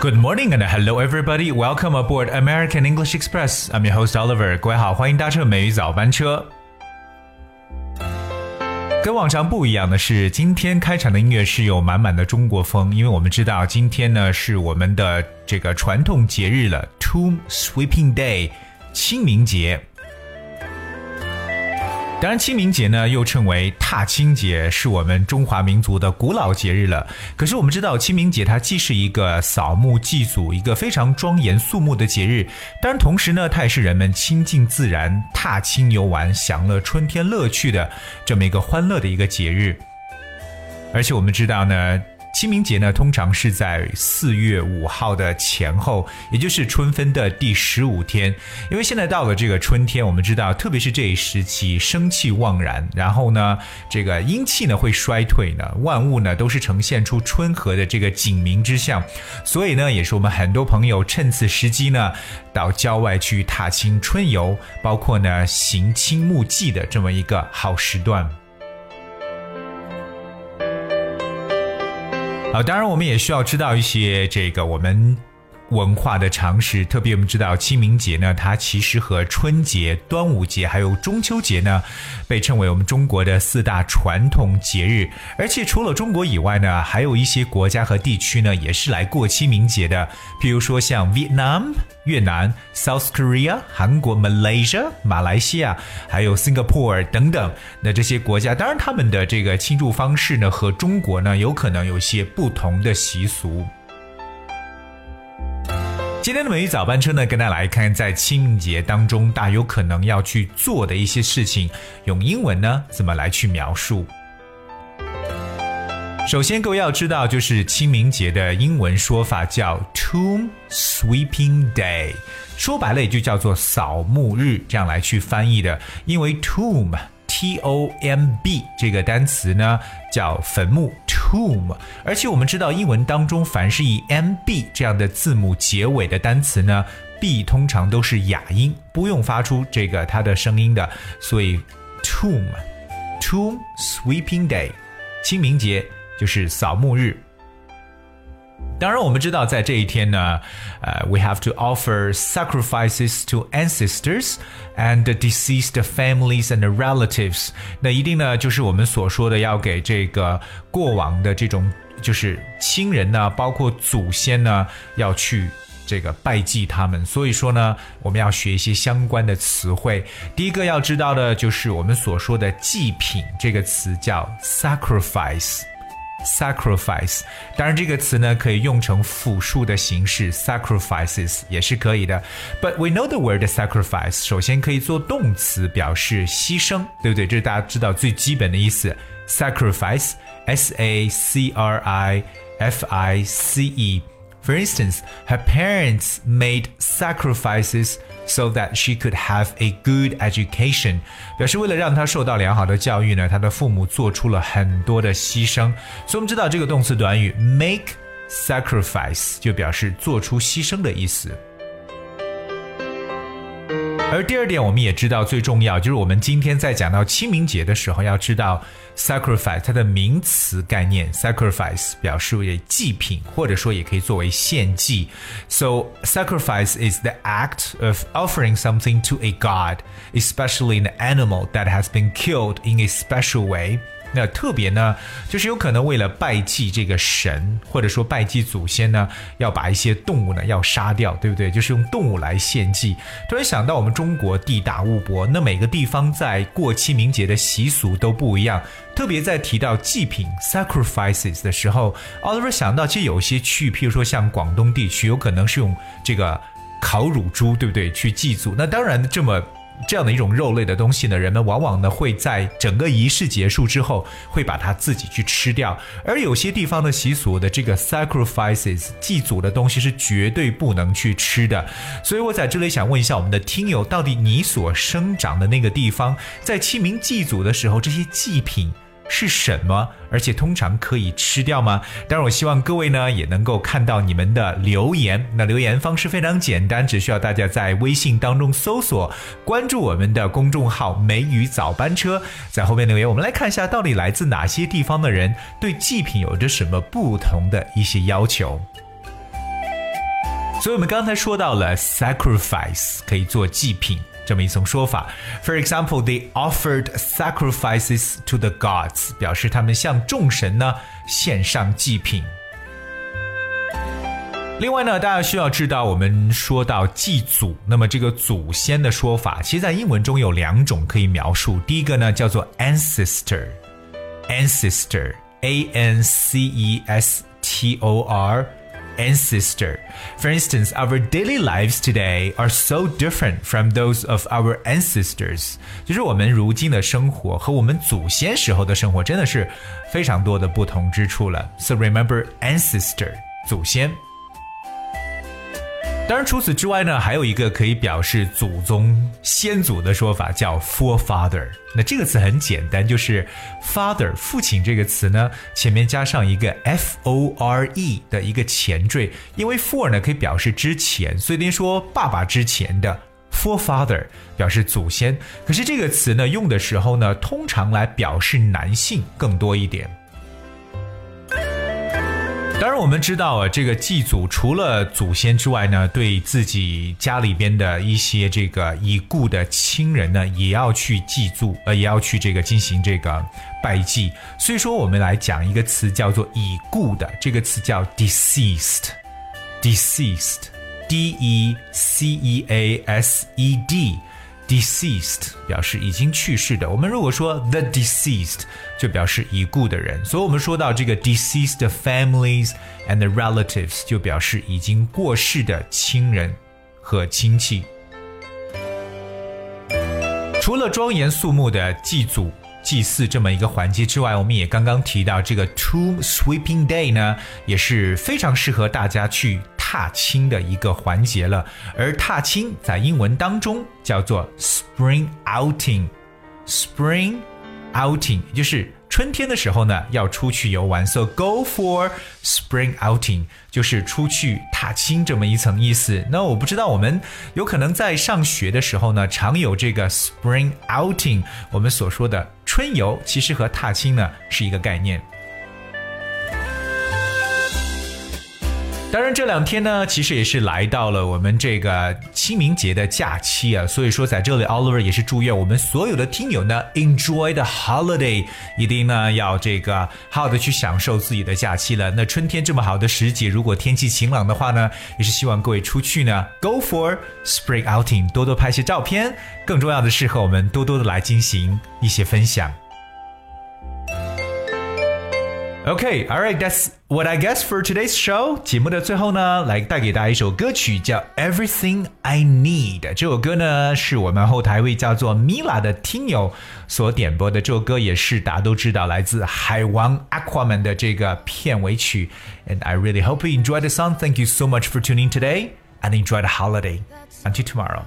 Good morning and hello everybody. Welcome aboard American English Express. I'm your host Oliver. 各位好，欢迎搭乘美语早班车。跟往常不一样的是，今天开场的音乐是有满满的中国风，因为我们知道今天呢是我们的这个传统节日了 Tomb Sweeping Day 清明节。当然清明节呢又称为踏青节，是我们中华民族的古老节日了。可是我们知道清明节它既是一个扫墓祭祖，一个非常庄严肃穆的节日，当然同时呢它也是人们亲近自然、踏青游玩、享乐春天乐趣的这么一个欢乐的一个节日。而且我们知道呢，清明节呢通常是在4月5号的前后，也就是春分的第15天。因为现在到了这个春天，我们知道特别是这一时期生气旺然，然后呢这个阴气呢会衰退呢，万物呢都是呈现出春和的这个景明之象，所以呢也是我们很多朋友趁此时机呢到郊外去踏青春游，包括呢行清墓祭的这么一个好时段。好，当然我们也需要知道一些这个我们文化的常识，特别我们知道清明节呢，它其实和春节、端午节还有中秋节呢，被称为我们中国的4大传统节日。而且除了中国以外呢，还有一些国家和地区呢，也是来过清明节的。譬如说像 Vietnam 越南、South Korea 韩国、Malaysia 马来西亚，还有 Singapore 等等。那这些国家，当然他们的这个庆祝方式呢，和中国呢，有可能有些不同的习俗。今天的美语早班车呢，跟大家来看在清明节当中大有可能要去做的一些事情，用英文呢怎么来去描述。首先各位要知道，就是清明节的英文说法叫 Tomb Sweeping Day， 说白了也就叫做扫墓日，这样来去翻译的。因为 tomb T-O-M-B 这个单词呢叫坟墓 tomb， 而且我们知道英文当中凡是以 M-B 这样的字母结尾的单词呢 B 通常都是哑音，不用发出这个它的声音的，所以 Tomb Sweeping Day 清明节就是扫墓日。当然我们知道在这一天呢we have to offer sacrifices to ancestors and deceased families and relatives， 那一定呢就是我们所说的要给这个过往的这种就是亲人呢，包括祖先呢，要去这个拜祭他们。所以说呢我们要学一些相关的词汇。第一个要知道的就是我们所说的祭品，这个词叫 sacrifice， 当然这个词呢可以用成复数的形式 sacrifices 也是可以的。 But we know the word sacrifice 首先可以做动词表示牺牲，对不对？这是大家知道最基本的意思。 Sacrifice S-A-C-R-I-F-I-C-E For instance, her parents made sacrifices so that she could have a good education. 表示为了让她受到良好的教育呢，她的父母做出了很多的牺牲。所以我们知道这个动词短语 make sacrifice 就表示做出牺牲的意思。而第二点我们也知道最重要，就是我们今天在讲到清明节的时候要知道 sacrifice 它的名词概念。 sacrifice 表示为祭品，或者说也可以作为献祭。 So sacrifice is the act of offering something to a god, especially an animal that has been killed in a special way。那特别呢就是有可能为了拜祭这个神，或者说拜祭祖先呢，要把一些动物呢要杀掉，对不对？就是用动物来献祭。突然想到我们中国地大物博，那每个地方在过清明节的习俗都不一样，特别在提到祭品 sacrifices 的时候， Oliver 想到其实有些区域，譬如说像广东地区有可能是用这个烤乳猪，对不对？去祭祖。那当然这样的一种肉类的东西呢，人们往往呢会在整个仪式结束之后会把它自己去吃掉。而有些地方的习俗的这个 sacrifices 祭祖的东西是绝对不能去吃的。所以我在这里想问一下我们的听友，到底你所生长的那个地方在清明祭祖的时候，这些祭品是什么，而且通常可以吃掉吗？当然我希望各位呢也能够看到你们的留言。那留言方式非常简单，只需要大家在微信当中搜索关注我们的公众号美语早班车，在后面留言。我们来看一下到底来自哪些地方的人对祭品有着什么不同的一些要求。 所以我们刚才说到了 sacrifice 可以做祭品这么一层说法。 For example, they offered sacrifices to the gods 表示他们向众神呢献上祭品。另外呢，大家需要知道，我们说到祭祖，那么这个祖先的说法，其实在英文中有2种可以描述。第一个呢叫做 ancestor, A-N-C-E-S-T-O-R, ancestor. For instance, our daily lives today are so different from those of our ancestors. 就是我们如今的生活和我们祖先时候的生活真的是非常多的不同之处了。So remember ancestor, 祖先。当然除此之外呢，还有一个可以表示祖宗先祖的说法叫 forefather。 那这个词很简单，就是 father 父亲这个词呢前面加上一个 F-O-R-E 的一个前缀，因为 for 呢可以表示之前，所以您说爸爸之前的 forefather 表示祖先。可是这个词呢用的时候呢通常来表示男性更多一点。当然我们知道这个祭祖除了祖先之外呢，对自己家里边的一些这个已故的亲人呢也要去祭祖，也要去这个进行这个拜祭。所以说我们来讲一个词叫做已故的，这个词叫 deceased, D-E-C-E-A-S-E-D, deceased 表示已经去世的。我们如果说 the deceased 就表示已故的人，所以我们说到这个 deceased families and the relatives 就表示已经过世的亲人和亲戚。除了庄严肃穆的祭祖祭祀这么一个环节之外，我们也刚刚提到这个 Tomb Sweeping Day 呢也是非常适合大家去踏青的一个环节了。而踏青在英文当中叫做 Spring Outing, Spring Outing 也就是春天的时候呢要出去游玩， So go for Spring Outing 就是出去踏青这么一层意思。那我不知道我们有可能在上学的时候呢常有这个 Spring Outing， 我们所说的春游其实和踏青呢是一个概念。当然这2天呢其实也是来到了我们这个清明节的假期啊，所以说在这里 Oliver 也是祝愿我们所有的听友呢 Enjoy the holiday， 一定呢要这个好好的去享受自己的假期了。那春天这么好的时节，如果天气晴朗的话呢，也是希望各位出去呢 Go for Spring Outing， 多多拍些照片，更重要的是和我们多多的来进行一些分享。Okay, alright, that's what I guess for today's show. 节目的最后呢，来带给大家一首歌曲叫 Everything I Need。 这首歌呢是我们后台一位叫做 Mila 的听友所点播的，这首歌也是大家都知道来自海王 Aquaman 的这个片尾曲。And I really hope you enjoyed the song. Thank you so much for tuning today and enjoy the holiday. Until tomorrow.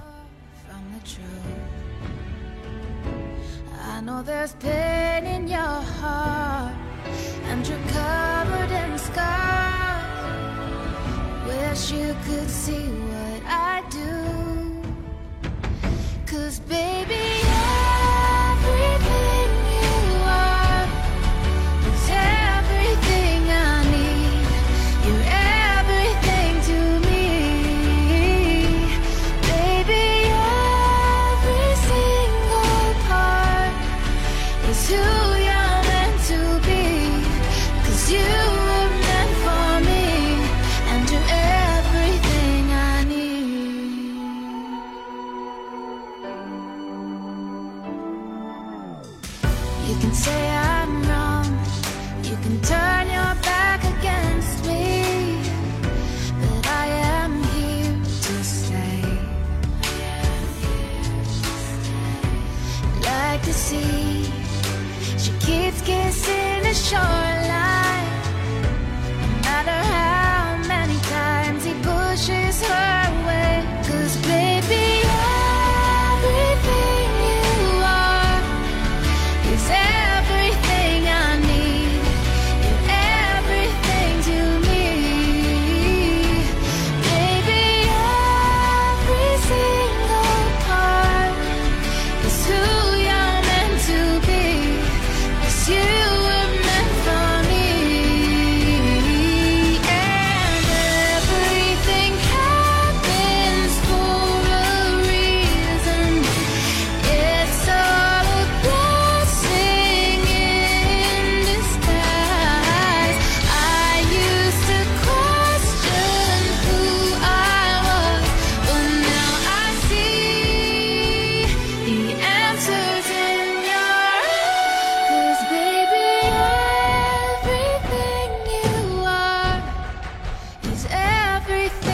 I know there's pain in your heart.And you're covered in scars. Wish you could see what I do. 'Cause baby, everything you are is everything I need. You're everything to me. Baby, every single part is who you're meant to be.You were meant for me, and you're everything I need. He's everything